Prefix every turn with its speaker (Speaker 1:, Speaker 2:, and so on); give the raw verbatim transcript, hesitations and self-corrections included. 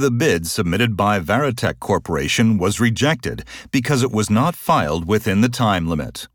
Speaker 1: The bid submitted by Veritech Corporation was rejected because it was not filed within the time limit.